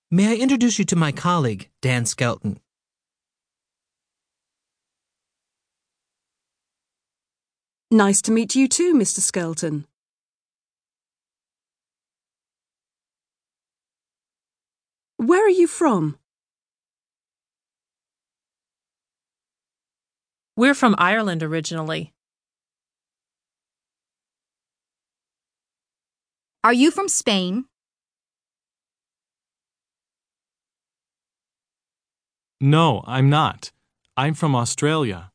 May I introduce you to my colleague, Dan Skelton? Nice to meet you too, Mr. Skelton. Where are you from? We're from Ireland originally. Are you from Spain? No, I'm not. I'm from Australia.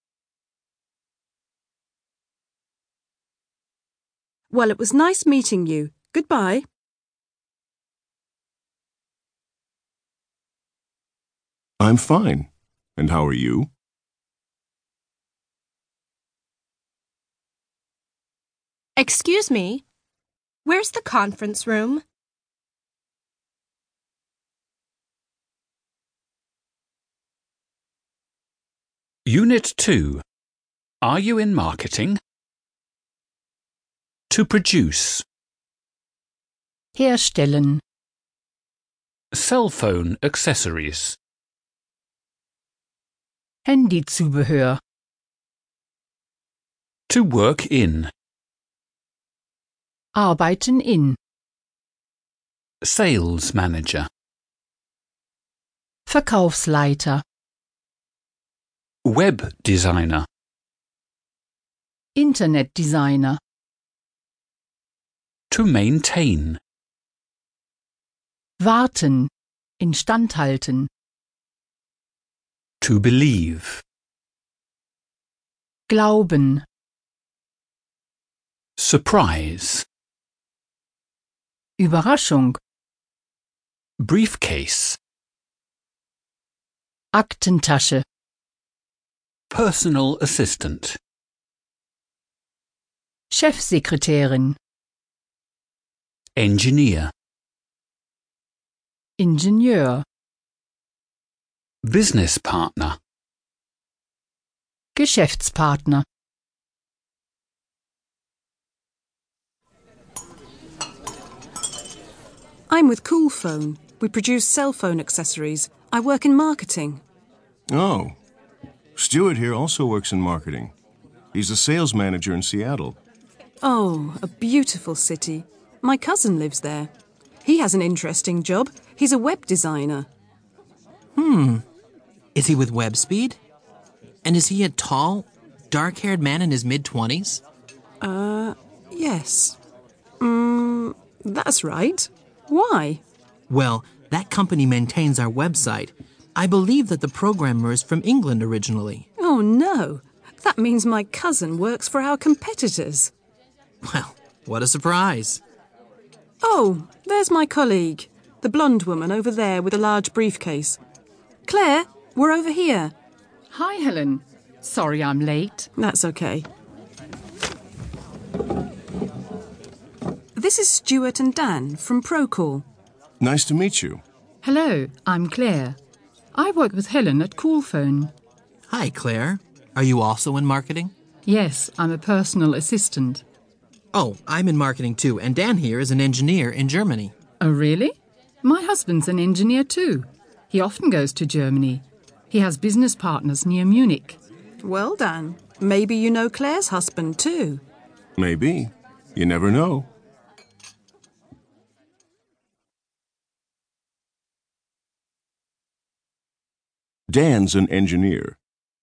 Well, it was nice meeting you. Goodbye. I'm fine. And how are you? Excuse me, where's the conference room? Unit 2. Are you in marketing? To produce. Herstellen. Cell phone accessories. Handyzubehör. To work in. Arbeiten in. Sales manager. Verkaufsleiter. Web designer. Internetdesigner. To maintain. Warten. Instandhalten. To believe. Glauben. Surprise. Überraschung. Briefcase. Aktentasche. Personal assistant. Chefsekretärin. Engineer. Ingenieur. Business partner. Geschäftspartner. I'm with Coolphone. We produce cell phone accessories. I work in marketing. Oh. Stuart here also works in marketing. He's a sales manager in Seattle. Oh, a beautiful city. My cousin lives there. He has an interesting job. He's a web designer. Is he with WebSpeed? And is he a tall, dark-haired man in his mid-20s? Yes. That's right. Why? Well, that company maintains our website. I believe that the programmer is from England originally. Oh, no. That means my cousin works for our competitors. Well, what a surprise. Oh, there's my colleague, the blonde woman over there with a large briefcase. Claire, we're over here. Hi, Helen. Sorry I'm late. That's okay. This is Stuart and Dan from Procall. Nice to meet you. Hello, I'm Claire. I work with Helen at Coolphone. Hi, Claire. Are you also in marketing? Yes, I'm a personal assistant. Oh, I'm in marketing too, and Dan here is an engineer in Germany. Oh, really? My husband's an engineer too. He often goes to Germany. He has business partners near Munich. Well, Dan, maybe you know Claire's husband too. Maybe. You never know. Dan's an engineer.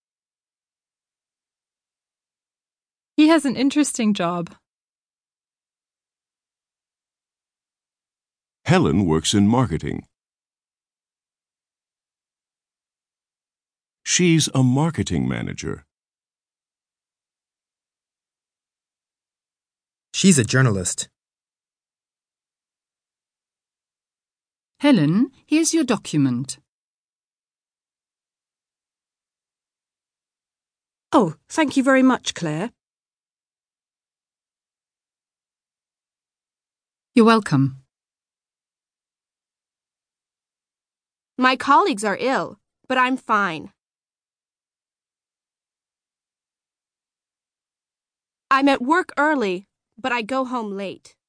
He has an interesting job. Helen works in marketing. She's a marketing manager. She's a journalist. Helen, here's your document. Oh, thank you very much, Claire. You're welcome. My colleagues are ill, but I'm fine. I'm at work early, but I go home late.